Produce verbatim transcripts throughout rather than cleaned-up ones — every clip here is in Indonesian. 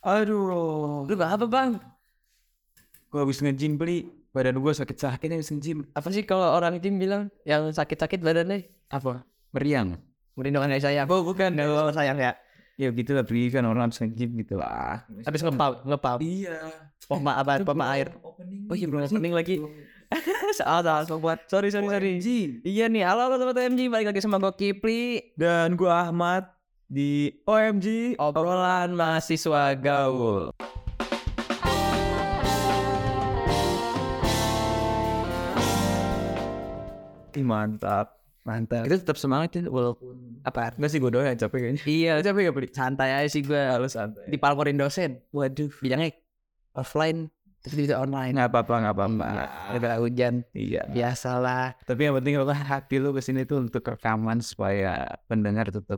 Aduh. Lu gak apa bang? Gue habis nge-gym beli. Badan gue sakit-sakit habis nge-gym. Apa sih kalau orang gym bilang yang sakit-sakit badannya? Apa? Meriang. Merindungan dari sayang. Oh bukan. Nggak sayang ya. Ya gitu lah, beli kan orang habis nge-gym gitu lah. Habis ngepau, ngepau. Iya. Pompa apa? Pompa air. Oh iya belum opening lagi. Salah salah sobat. Sorry sorry sorry. Iya nih, halo halo sobat O M G, balik lagi sama gue Kipli dan gue Ahmad di O M G obrolan mahasiswa gaul. Ih, mantap. Mantap. Itu tetap semangat ya walaupun Apa? enggak sih gue doang yang capek kayaknya. Iya, Capek gak beli? santai aja sih gue. Harus santai. Dipalporin dosen. Waduh, bilangnya offline terus bisa online. Nggak apa-apa, nggak apa-apa. Ada hujan. Iya. Biasalah. Tapi yang penting lo hati lu kesini tuh untuk rekaman supaya pendengar tetap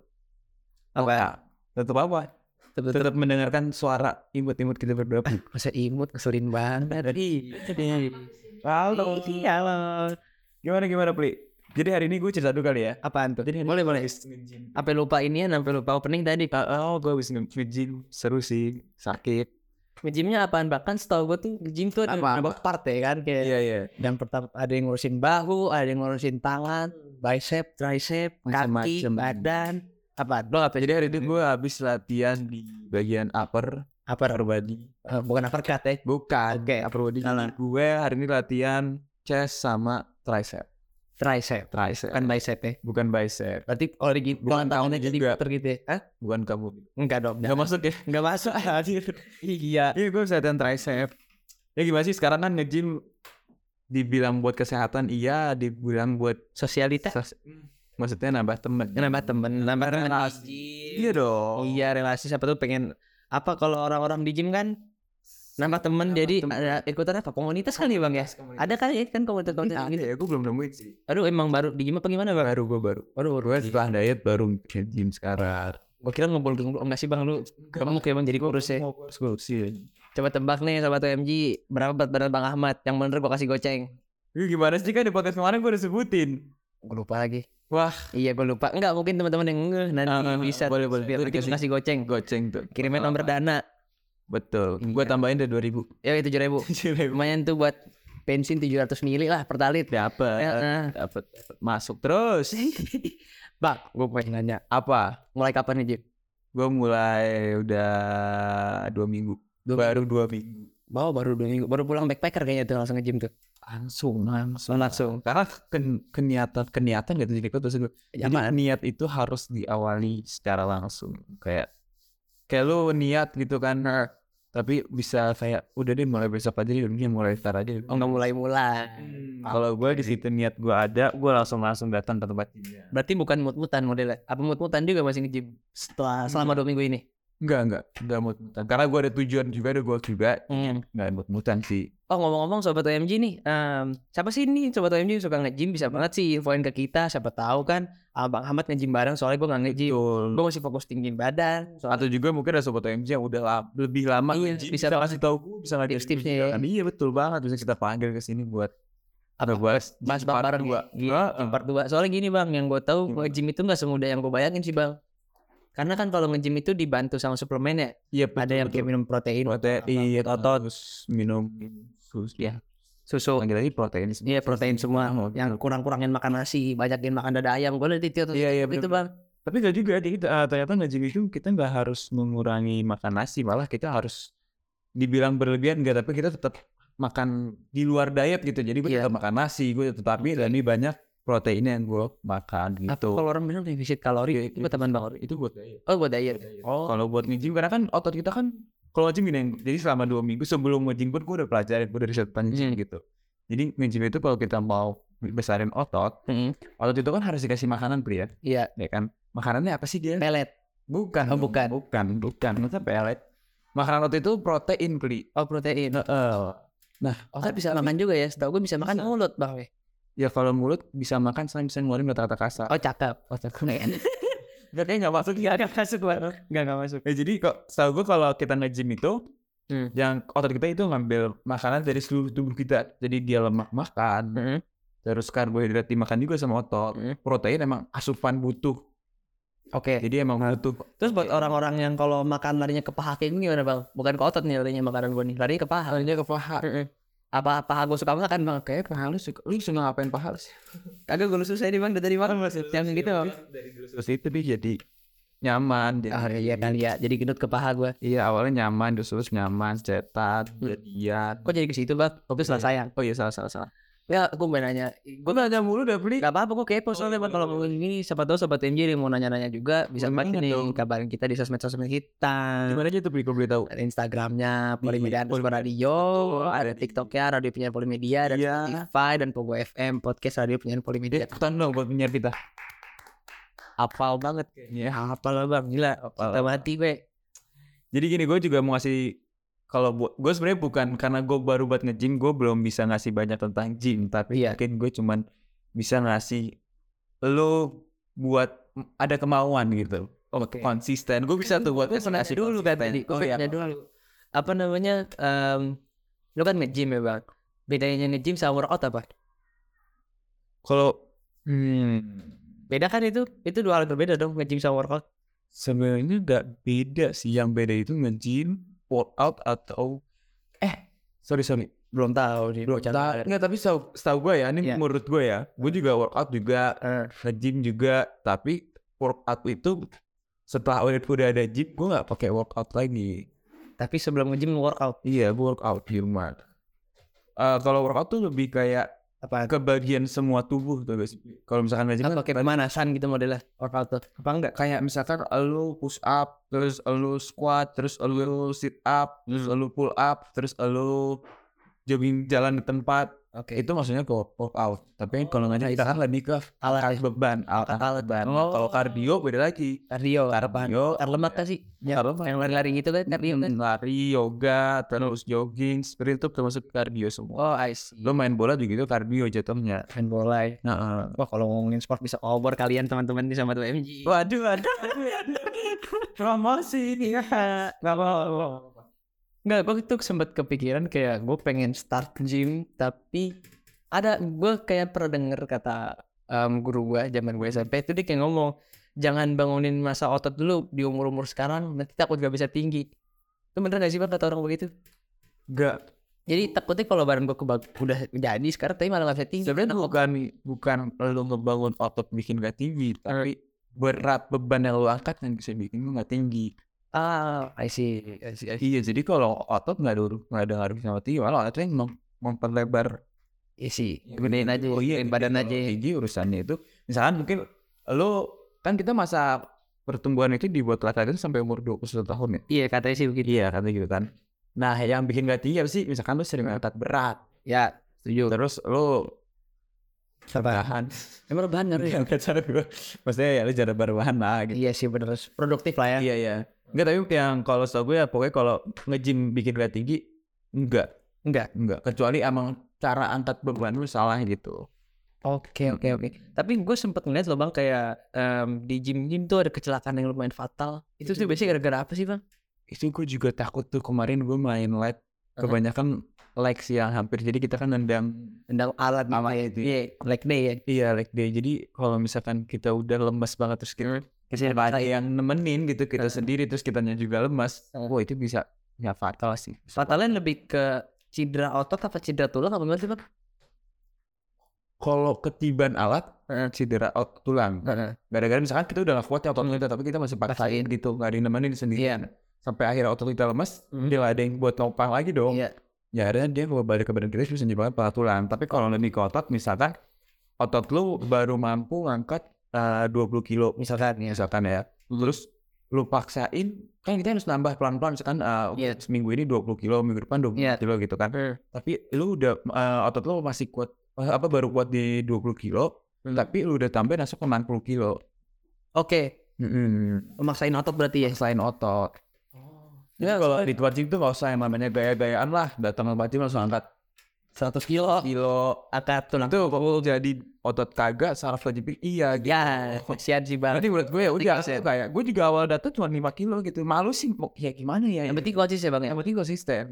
Apa? Tetap apa? Tetap, Tetap mendengarkan suara imut-imut kita berdua. masa imut ngeselin banget. Iya. Halo. Halo. Gimana gimana Pli? Jadi hari ini gue cerita dulu kali ya. Apaan tuh? Jadi Boleh boleh. Sampai lupa inian, sampai lupa opening tadi. Oh, gue habis nge-gym, seru sih, sakit. Nge-gymnya apaan? Bahkan setahu gue tuh nge-gym tuh ada beberapa part ya kan kayak. Iya iya. Dan pertama ada yang ngurusin bahu, ada yang ngurusin tangan, bicep, tricep, kaki, Macem-macem. badan. Apa? Lo apa? Jadi hari itu gue habis latihan di bagian upper, Upper body. uh, bukan uppercut ya. Bukan. Oke. Upper body. Salah. Gue hari ini latihan chest sama tricep. Tricep, Tricep. bukan bicep ya. Bukan bicep. Berarti kalau di Bukan tangannya kamu jadi juga. puter gitu ya. Hah? Bukan kamu. Enggak dong. Gak masuk ya? Enggak masuk. Iya. Iya gue bisa latihan tricep. Ya gimana sih sekarang kan nge-gym dibilang buat kesehatan iya, dibilang buat Sosialitas. sos- maksudnya nambah temen. Nambah temen, nambah temen di Relasi. gym. Iya dong. Iya, relasi siapa tuh pengen apa kalau orang-orang di gym kan nambah temen, Nambah jadi temen. ada ikutan apa komunitas kan ya bang ya? Ada kan ya kan komunitas-komunitas Ada gitu. ya, gue belum nemuin sih. Aduh emang baru di gym apa gimana bang? Baru gue baru. Aduh Gue setelah diet baru gym sekarang. gue kira ngumpul dulu enggak sih bang lu? Kamu kayak bang jadi kurus ya. Kurus ya. Coba tebak nih sobat O M G berapa berat badan bang Ahmad? Yang bener gue kasih goceng. Ini gimana sih kan di podcast kemarin gue udah sebutin. Gue lupa lagi. Wah. Iya gue lupa. Enggak mungkin teman-teman yang ngeh nanti Ah, ah, bisa. boleh, boleh. Biar Itu nanti dikasih- kasih goceng. Goceng tuh. Kirimin nomor dana. Betul. Iya. Gue tambahin deh dua ribu. Ya tujuh ribu. Lumayan tuh buat bensin tujuh ratus mili lah per talit. Dapat. Ya, eh. Dapat. Masuk terus. Bang, gue pengen nanya. Apa? Mulai kapan nih Jim? Gue mulai udah dua minggu. Dua Baru dua minggu. Bawa baru dua minggu. Baru pulang backpacker kayaknya tuh langsung nge-gym tuh. Langsung, langsung, Langsung. Karena ken, keniatan, keniatan gitu jadi terus gue. Ya, Jadi apaan? niat itu harus diawali secara langsung. Kayak, kayak lu niat gitu kan. Tapi bisa kayak udah deh mulai besok aja deh, udah mulai start aja. Oh nggak mulai-mulai. Kalau gue di situ niat gue ada, gue langsung langsung datang ke tempat ini. Berarti bukan mut-mutan modelnya. Apa mut-mutan juga masih nge-gym setelah selama dua minggu ini? Enggak, enggak, enggak mut-mutan. Karena gue ada tujuan juga, ada gue juga. Hmm. Enggak mut-mutan sih. Oh ngomong-ngomong sobat O M G nih, um, siapa sih nih sobat O M G suka nge-gym bisa banget sih infoin ke kita. Siapa tahu kan Abang Ahmad nge-gym bareng soalnya gue nggak nge-gym. Betul. Gue masih fokus tinggiin badan. Soalnya Atau juga mungkin ada sobat O M G yang udah lama, lebih lama Iya, nge-gym, bisa bisa kasih tahu gue, bisa ngajarin tips-tipsnya gue ya. jalan. Iya betul banget, bisa kita panggil ke sini buat apa bahas bahas part bareng dua. Iya, Heeh. part dua. Soalnya gini bang, yang gue tahu Gimana? nge-gym itu nggak semudah yang gue bayangin sih bang. Karena kan kalau nge-gym itu dibantu sama suplemen ya. Iya, Ada yang kayak minum protein, protein, otot, terus minum susu. ya, susu. Lagi lagi protein. Iya protein semua. Yang kurang-kurangin makan nasi, banyakin makan dada ayam. Gue lihat itu tuh. Iya, iya, Itu bener. bang. Tapi gak juga, di, uh, ternyata nge-gym itu kita nggak harus mengurangi makan nasi, malah kita harus dibilang berlebihan enggak, tapi kita tetap makan di luar diet gitu. Jadi gue Iya. tetap makan nasi, gue tetapi lebih banyak proteinnya yang gue makan Apa gitu. kalau orang bilang defisit kalori itu buat teman bang? Itu buat diet. Oh buat diet. Oh. Kalau buat nge-gym karena kan otot kita kan kalau nge-gym gini, jadi selama dua minggu sebelum nge-gym pun gue udah pelajarin, gue udah riset panjang Hmm. gitu. Jadi nge-gym itu kalau kita mau besarin otot, Hmm. otot itu kan harus dikasih makanan pria, Iya. ya kan? Makanannya apa sih dia? Pelet. Bukan, Oh, bukan. bukan, bukan. Masa pelet? Makanan otot itu protein pria. Oh protein. Heeh. Nah, Otot bisa makan juga ya. Setahu gue bisa makan Bisa. mulut bang. ya. ya kalau mulut bisa makan selain bisa ngeluarin kata-kata kasar. Oh cakep. Otot. Berarti nggak masuk nggak nggak masuk bang. Nggak nggak masuk. Ya, jadi kok setahu gue kalau kita nge-gym itu Hmm. yang otot kita itu ngambil makanan dari seluruh tubuh kita. Jadi dia lemak makan, Hmm. terus karbohidrat dimakan juga sama otot. Hmm. Protein emang asupan butuh Oke. Jadi emang butuh. Terus buat orang-orang yang kalau makan larinya ke paha kayak gini gimana bang? Bukan ke otot nih larinya makanan gue nih, larinya ke paha. Larinya ke paha. Apa paha gue suka makan bang? Kayak paha lu suka, lu suka ngapain paha lu sih? Kagak gue susah nih bang dari mana? Yang gitu. Dari terus itu dia jadi nyaman. Jadi, oh iya kali ya, jadi gendut ke paha gue. Iya awalnya nyaman, terus nyaman, cetat, jadian. Kok jadi ke situ bang? Tapi salah sayang. Oh iya salah salah salah. Ya aku mau nanya, gue nanya mulu udah beli. Gak apa-apa gue kepo soalnya bang kalau ngomongin gini. Siapa tahu sobat M J yang mau nanya-nanya juga bisa banget nih kabarin kita di sosmed-sosmed kita. Gimana aja tuh beli kalau boleh tahu? Ada Instagramnya Polimedia underscore radio, ada TikToknya Radio Penyiar Polimedia, dan Spotify dan Pogo F M podcast Radio Penyiar Polimedia. Ikutan dong buat penyiar kita. Hafal banget kayaknya. Hafal bang, gila. Kita mati gue. Jadi gini, gue juga mau ngasih, kalau buat gue sebenarnya bukan karena gue baru buat nge-gym, gue belum bisa ngasih banyak tentang gym, tapi iya. Mungkin gue cuman bisa ngasih lo buat ada kemauan gitu. Oke. Konsisten. Gue bisa tuh buat ngasih dulu kan tadi. Gue pengen dulu. Apa namanya? Um, lo kan nge-gym ya bang. Bedanya nge-gym sama workout apa? Kalau hmm, beda kan itu? Itu dua hal berbeda dong, nge-gym sama workout. Sebenarnya gak beda sih. Yang beda itu nge-gym, workout atau eh sorry sorry belum tahu nih. Belum tahu. Enggak, tapi setahu, setahu gue ya, ini yeah. menurut gue ya, gue juga workout juga, uh. nge-gym juga, tapi workout itu setelah udah, udah ada gym, gue nggak pakai workout lagi. Tapi sebelum nge-gym workout? Iya, gue workout di rumah. Uh, kalau workout tuh lebih kayak apa? Ke bagian semua tubuh tuh guys. Kalau misalkan nge-gym kan kayak pemanasan gitu modelnya workout tuh. Apa enggak? Kayak misalkan lu push up, terus lu squat, terus lu sit up, terus lu pull up, terus lu jogging jalan di tempat. Oke. Okay. Itu maksudnya ke workout. Tapi oh, kalau nggak kita kan lebih ke alat beban, alat alat beban. Oh. Kalau kardio beda lagi. Kardio, kardio, lemak kan sih? Ya, yang lari-lari gitu kan kardio kan. Lari, yoga, terus jogging, seperti itu termasuk kardio semua. Oh, I see. Lo main bola juga itu kardio jatuhnya. Main bola. Ya. Nah, uh. Wah, kalau ngomongin sport bisa over kalian teman-teman di sama tuh M J. Waduh, waduh. Promosi ini ya. Enggak apa-apa. Nggak, gue tuh sempat kepikiran kayak gue pengen start gym, tapi ada gue kayak pernah denger kata um, guru gue zaman gue S M P itu dia kayak ngomong jangan bangunin masa otot dulu di umur-umur sekarang, nanti takut gak bisa tinggi. Itu bener gak sih bang kata orang begitu? Gak. Jadi takutnya kalau badan gue kebag- udah jadi sekarang tapi malah gak bisa tinggi. Sebenarnya bukan bukan lo ngebangun otot bikin gak tinggi, tapi berat beban yang lo angkat yang bisa bikin lo gak tinggi. Ah, I see, I see, I see. Iya, jadi kalau otot nggak ada nggak ada ngaruh sama tinggi, malah ototnya mem- memperlebar. Iya sih, gedein aja, oh iya, badan aja. Tinggi urusannya itu, misalkan mungkin lo kan kita masa pertumbuhan itu dibuat laki-laki sampai umur dua puluh satu tahun ya. Iya, katanya sih begitu. Iya, katanya gitu kan. Nah, yang bikin nggak tinggi apa sih? Misalkan lo sering angkat berat. Ya, setuju. Terus lo rebahan. Emang rebahan nggak ya? Cara gue, maksudnya ya lo jarang berbahan lah. Gitu. Iya sih bener, produktif lah ya. Iya iya. Enggak, tapi yang kalau setahu gue ya pokoknya kalau nge-gym bikin gak tinggi enggak. Enggak. Enggak. Kecuali emang cara angkat beban lu salah gitu. Oke oke oke. Tapi gue sempet ngeliat loh bang kayak um, di gym-gym tuh ada kecelakaan yang lumayan fatal. Itu tuh biasanya gara-gara apa sih bang? Itu gue juga takut tuh kemarin gue main leg. Kebanyakan leg sih yang hampir. Jadi kita kan nendang nendang alat namanya itu. Iya, leg day ya. Iya, leg day. Jadi kalau misalkan kita udah lemas banget terus kita Kesini ada yang nemenin gitu kita uh. sendiri terus kitanya juga lemas. Uh. Wah itu bisa ya fatal sih. Fatalnya lebih ke cedera otot apa cedera tulang apa gimana sih bang? Kalau ketiban alat uh. cedera otot tulang. Uh. Gara-gara misalkan kita udah gak kuat ya otot kita tapi kita masih paksain gitu gak ada yang nemenin sendirian. Yeah. Sampai akhirnya otot kita lemas, mm. dia gak ada yang buat nopang lagi dong. Yeah. Ya akhirnya dia mau balik ke badan kita bisa menyebabkan patah tulang. Tapi kalau lebih ke otot misalkan otot lu baru mampu ngangkat Uh, dua puluh kilo misalkan ya misalkan ya terus lu paksain kan kita harus nambah pelan-pelan misalkan uh, yeah. seminggu ini dua puluh kilo minggu depan dua puluh yeah. kilo gitu kan mm. tapi lu udah uh, otot lu masih kuat apa baru kuat di dua puluh kilo mm. tapi lu udah tambah masuk ke enam puluh kilo. Oke. Okay. Mm-hmm. Maksain otot berarti ya? Maksain otot. Oh. Ya kalau di tempat gym tuh gak usah yang namanya gaya-gayaan lah, datang ke tempat gym langsung angkat seratus kilo kilo angkat tulang tuh kalau jadi otot kagak saraf lagi iya gitu. Ya kasihan sih bang. Nanti menurut gue ya udah kayak gue juga awal datang cuma lima kilo gitu malu sih ya gimana ya yang penting konsisten bang ya yang penting konsisten gitu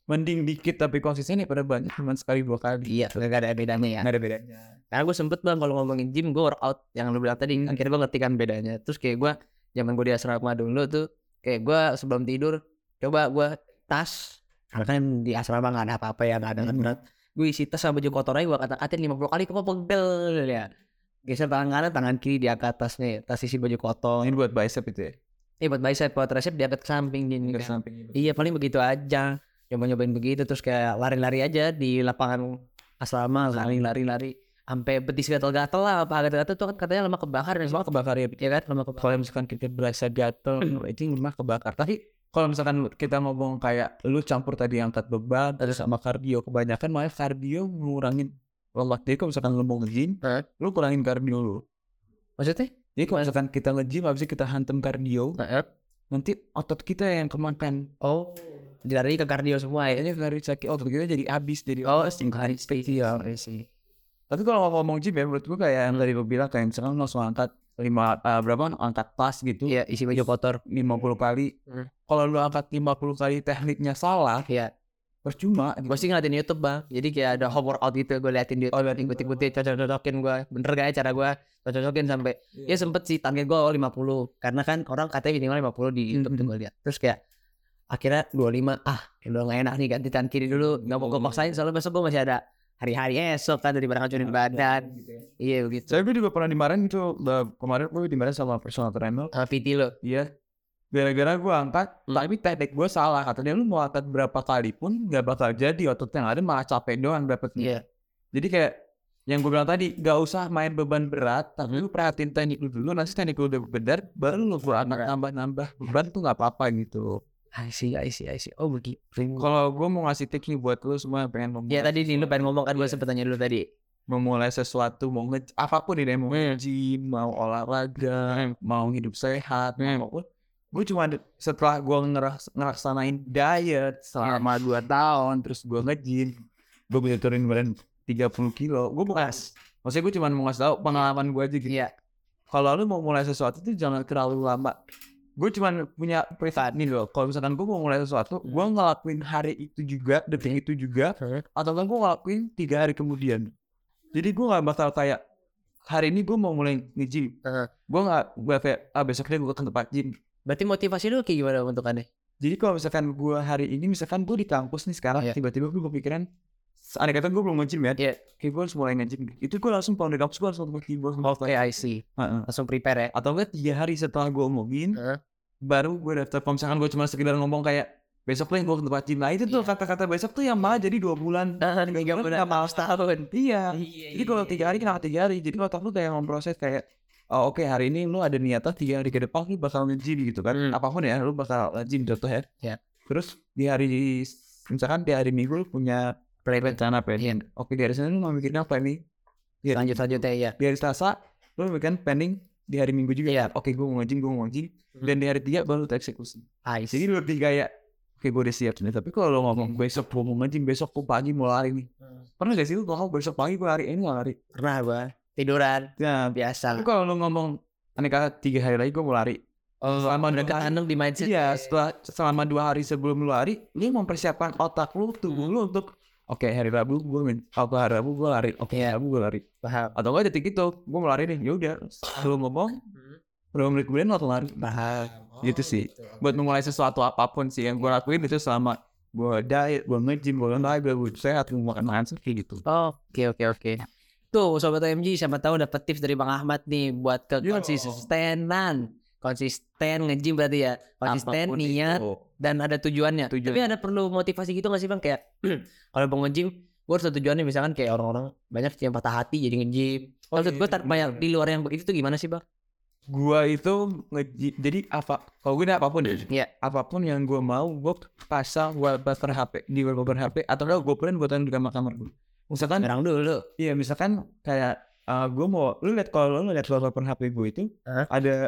mending dikit tapi konsisten ya pada banyak cuman sekali dua kali. Iya, gak ada bedanya ya. Gak ada bedanya. Karena gue sempet bang kalau ngomongin gym, gue workout yang lu bilang tadi, akhirnya gue ngerti kan bedanya. Terus kayak gue zaman gue di asrama dulu tuh, kayak gue sebelum tidur coba gue tas, karena kan di asrama gak ada apa-apa ya, gak ada kan berat. Gue isi tas sama baju kotor aja, gue kata-katain lima puluh kali, kok pegel ya. Geser tangan kanan, tangan kiri diangkat tasnya, tas isi baju kotor. Ini buat bicep itu ya? Iya buat bicep, buat tricep diangkat ke samping gini kan. Samping, iya paling begitu aja. Coba-nyobain begitu, terus kayak lari-lari aja di lapangan asrama, lari-lari-lari sampai betis gatel-gatel lah, apa gatel-gatel tuh kan katanya lemak kebakar dan semua kebakar ya, ya kan lemak kebakar. Kalau misalkan kita berasa gatel itu lemak kebakar. Tapi kalau misalkan kita ngomong kayak lu campur tadi angkat beban terus sama kardio, kebanyakan malah kardio ngurangin lemak. Jadi kalau misalkan lu mau nge-gym, eh? lu kurangin kardio lu. Maksudnya? Jadi kalau misalkan kita nge-gym habis kita hantem kardio, eh? nanti otot kita yang kemakan. Oh. Jadi ke kardio semua ya. Ini dari sakit otot kita jadi habis, jadi oh singkat spesial sih. Tapi kalau ngomong gym ya menurut gue kayak yang tadi gue bilang kayak misalkan langsung angkat lima uh, berapa angkat tas gitu. Iya, isi baju kotor lima puluh kali. Hmm. Kalau lu angkat lima puluh kali tekniknya salah, ya percuma. Gue sih ngeliatin YouTube bang. Jadi kayak ada home workout gitu, gue liatin di YouTube, oh, ikut-ikutin, cocok-cocokin gue. Bener gak ya cara gue cocok-cocokin sampai yeah. Ya sempet sih target gue lima puluh. Karena kan orang katanya minimal lima puluh di YouTube tuh gue liat. Terus kayak akhirnya dua puluh lima, ah udah gak enak nih ganti tangan kiri dulu. Gak mau gue maksain soalnya besok gue masih ada hari-hari esok kan daripada ngacurin badan gitu ya. Iya begitu. Saya gue juga pernah dimarahin itu kemarin gue dimarahin sama personal trainer sama P T lo. Iya. Gara-gara gue angkat hmm. tapi teknik gue salah. Katanya lu mau angkat berapa kali pun gak bakal jadi, otot yang ada malah capek doang dapetnya. Iya. Jadi kayak yang gue bilang tadi, gak usah main beban berat, tapi lu perhatiin teknik lu dulu. Nanti teknik lu udah benar, baru lu nambah-nambah beban tuh gak apa-apa gitu. I see, I see, I see. Oh begitu. Kalau gue mau ngasih tips nih buat lu semua yang pengen ngomong. Ya tadi nih lu pengen ngomong kan, gue sempet tanya dulu tadi. Memulai sesuatu, mau nge apapun nih, mau nge-gym, mau olahraga, mau hidup sehat, apapun. Gue cuma setelah gue ngeras, ngeraksanain diet selama dua tahun, terus gue nge-gym, gue bisa turunin badan tiga puluh kilo. Gue bukan, maksudnya gue cuma mau ngasih tau pengalaman gue aja gitu. Iya. Kalau lu mau mulai sesuatu tuh jangan terlalu lama. Gue cuma punya private nih loh. Kalau misalkan gue mau mulai sesuatu, hmm. gue ngelakuin hari itu juga, detik itu juga, hmm. atau kan gue ngelakuin tiga hari kemudian. Jadi gue nggak bakal kayak hari ini gue mau mulai nge-gym. Hmm. Gue nggak, gue kayak ah besoknya gue ke tempat gym. Berarti motivasi lu kayak gimana bentukannya? Jadi kalau misalkan gue hari ini, misalkan gue di kampus nih sekarang, yeah. tiba-tiba gue kepikiran, aneh kata gue belum nge-gym ya, yeah. kayak gue harus mulai nge-gym. Itu gue langsung pulang dari kampus, gue langsung nge-gym. Oke, okay, I see. Uh-uh. Langsung prepare ya? Atau enggak tiga hari setelah gue omongin, uh. baru gue daftar. Kalau misalkan gue cuma sekedar ngomong kayak, besok nih gue ke tempat gym. Nah itu tuh yeah. kata-kata besok tuh yang malah jadi dua bulan. Nah, tiga bulan, malah setahun. Iya. Yeah, jadi kalau tiga hari, kenapa tiga hari? Jadi otak lu kayak memproses kayak, oh oke okay, hari ini lu ada niatan tiga hari ke depan lu bakal nge-gym gitu kan. Hmm. Apapun ya, lu bakal nge-gym contoh ya. Yeah. Terus di hari, misalkan di hari Minggu lu punya rencana planning. Oke di hari Senin lu mau mikirin apa nih? Lanjut-lanjutnya ya. Di hari Selasa lu mikirin planning di hari Minggu juga ya. Oke gue mau nge-gym, gue mau nge-gym. Hmm. Dan di hari tiga baru tereksekusi. Ah, jadi lu lebih kayak, oke gue udah siap nih. Tapi kalau lu ngomong besok gue mau nge-gym, besok gue pagi mau lari nih. Hmm. Pernah gak sih lu ngomong besok pagi gue lari, ini gak lari? Pernah gue. Tiduran. Ya biasa. Tapi kalau lu ngomong aneh kata tiga hari lagi gue mau lari. Oh, selama udah ketanam di mindset. Iya, setelah selama dua hari sebelum lu lari, lu mempersiapkan otak lu, tubuh lu untuk oke okay, hari Rabu gue main, atau hari Rabu gue lari, oke okay, Rabu gue lari. Paham. Atau enggak detik itu, gue mau lari nih, yaudah. Lu ngomong, berapa menit kemudian lo lari. Paham. Oh, gitu sih. Gitu. Buat memulai sesuatu apapun sih yang gue lakuin itu selama gue diet, gue nge-gym, gue olahraga, gue sehat, gue makan makan kayak gitu. Oh, oke okay, oke okay, oke. Okay. Tuh Sobat O M G, siapa tahu dapat tips dari Bang Ahmad nih buat ke konsistenan. Konsisten nge-gym berarti ya. Konsisten, niat, dan ada tujuannya. Tujuan. Tapi ada perlu motivasi gitu gak sih Bang? Kayak kalau mau nge-gym, gue harus ada tujuannya. Misalkan kayak orang-orang banyak yang patah hati jadi nge-gym. Oh, maksud gue banyak di luar yang begitu tuh gimana sih Bang? Gua itu nge-gym, jadi apa? Kalau gue apapun deh. Iya. Apapun yang gue mau, gue pasang wallpaper H P di wallpaper H P atau enggak gue print buatan di kamar-kamar gue. Misalkan terang dulu. Iya, misalkan kayak uh, gue mau lu lihat kalau lu lihat wallpaper H P gue itu huh? ada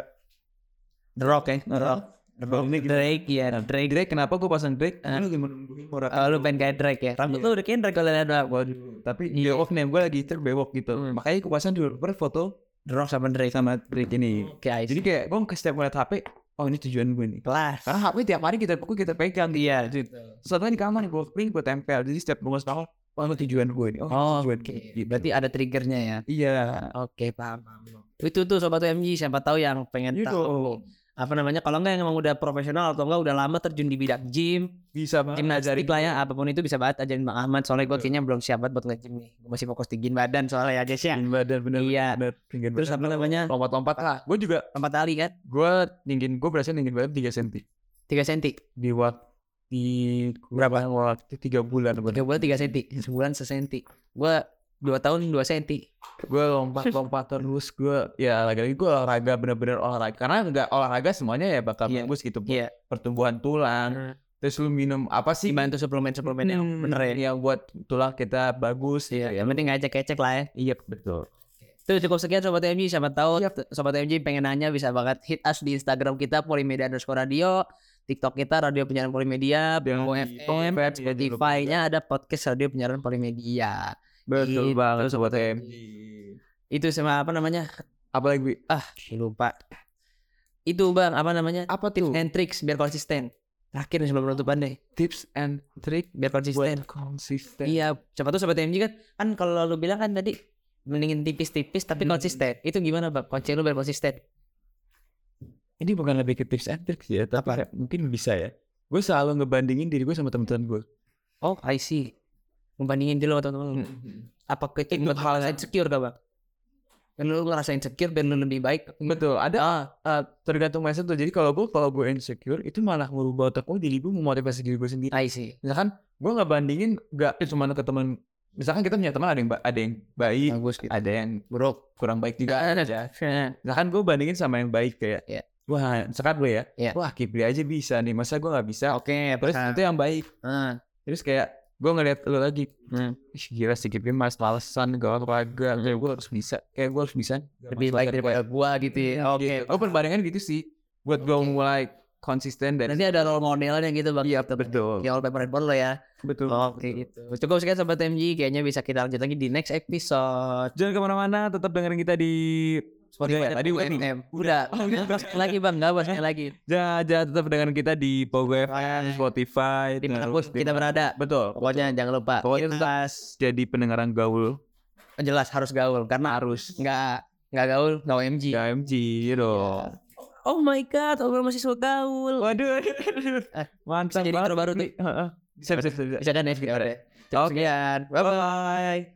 The Rock ya, The Rock. The Rock Drake ya, Drake. Drake kenapa gue pasang Drake? Uh. Lu gimana? Oh, lu pengen kayak Drake ya. Rambut lu udah kayak Drake kalau lihat waduh. Tapi bewok nih, gue lagi terbewok gitu. Hmm. Makanya gue pasang di wallpaper foto The Rock sama Drake sama Drake ini. Okay, jadi kayak gue setiap ngeliat H P, oh ini tujuan gue nih. Kelas. Karena H P tiap hari kita buku kita pegang. Iya, gitu. Setelah di kamar gue print gue tempel. Jadi setiap gue sekolah, oh ini tujuan gue nih. Oh, Oh, tujuan oke. gue. Gitu. Berarti ada triggernya ya. Iya. Oke, paham, paham. Itu tuh Sobat U M G, siapa tahu yang pengen Gitu. tahu apa namanya, kalau enggak yang emang udah profesional atau enggak udah lama terjun di bidang gym, Bisa banget. gimnastik lah ya, apapun itu bisa banget ajarin Bang Ahmad. Soalnya gue kayaknya belum siap banget buat nge-gym nih. Gue masih fokus tinggiin badan soalnya ya guys ya. Tinggiin badan bener. Iya. Bener. Tinggiin Terus badan. apa namanya, Lompat-lompat lah. Gue juga lompat tali kan, gue tinggiin gue berhasil tinggiin badan tiga senti tiga senti. di waktu di berapa waktu tiga bulan Tiga bulan tiga senti, sebulan sesenti. Gue dua tahun dua senti. gue lompat-lompat terus. Gue ya lagi-lagi gue olahraga bener-bener olahraga karena nggak olahraga semuanya ya bakal Iya. bagus gitu. Iya. Pertumbuhan tulang. Terus lu minum apa sih? Dibantu suplemen-suplemen yang bener ya. Yang buat tulang kita bagus. Iya, yang penting ngecek-ngecek lah ya. Iya betul. Itu cukup sekian Sobat U M G. Siapa tahu Sobat U M G pengen nanya bisa banget hit us di Instagram kita Polimedia underscore radio, TikTok kita Radio Penyiaran Polimedia, Dengan F M, Spotify-nya ada podcast Radio Penyiaran Polimedia. Betul Gitu, banget Sobat Sobat M. Itu sama apa namanya? Apa lagi? Ah, lupa. Itu Bang, apa namanya? Apa Tips tuh? and tricks biar konsisten. Terakhir nih sebelum penutupan deh. Tips and trick Biar konsisten. buat konsisten. Iya, siapa tuh Sobat U M G kan, kan kalau lu bilang kan tadi mendingin tipis-tipis tapi Hmm. konsisten. Itu gimana Bang? Kunci lu biar konsisten. Ini bukan lebih ke tips and tricks ya, tapi kayak mungkin bisa ya. Gue selalu ngebandingin diri gue sama teman-teman gue. Oh, I see. Membandingin dulu sama teman-teman. Apa ke itu hal insecure gak Bang? Kan lu ngerasa insecure biar lu lebih baik. Betul, ada Ah, uh, tergantung mindset tuh. Jadi kalau gue kalau gue insecure itu malah merubah otak gue, diri gue memotivasi diri gue sendiri. I see. Misalkan gue nggak bandingin nggak cuma ke teman. Misalkan kita punya teman ada yang ba- ada yang baik, Bagus gitu. ada yang buruk, kurang baik juga ada aja. Misalkan gue bandingin sama yang baik kayak, Iya. wah misalkan gue ya, Iya. wah Kipri aja bisa nih, masa gue nggak bisa? Oke, Terus itu yang baik. Ah, Terus kayak gue ngeliat lu lagi, hmm. ih gila si Kipri mas malesan gak olahraga, kayak gue harus bisa, kayak gue harus bisa. lebih baik daripada gua gitu ya. Oke. Oh perbandingan gitu sih, buat gue mulai konsisten dan Nanti ada role modelnya gitu Bang. iya betul, Ya wallpaper handphone lo ya. betul. Oke gitu. Cukup sekian Sobat U M G. Kayaknya bisa kita lanjut lagi di next episode. Jangan kemana-mana, tetap dengerin kita di Spotify. Ya, Tadi U udah M nih. M. Udah. Sekali lagi Bang, enggak sekali lagi. Jangan, jangan tetap dengerin kita di Pogo F M, Spotify, Di mana terus pun kita berada. betul. Pokoknya jangan lupa. Pokoknya tetap Jelas, jadi pendengaran gaul. jelas harus gaul karena Harus. enggak enggak gaul, enggak U M G. K M G dong. Oh my god, obrolan masih suka gaul. Waduh, mantap Jadi banget. intro baru tuh. Heeh. Bisa, bisa, bisa. Bisa kan ya? Oke. Oke. Sekian. Bye bye.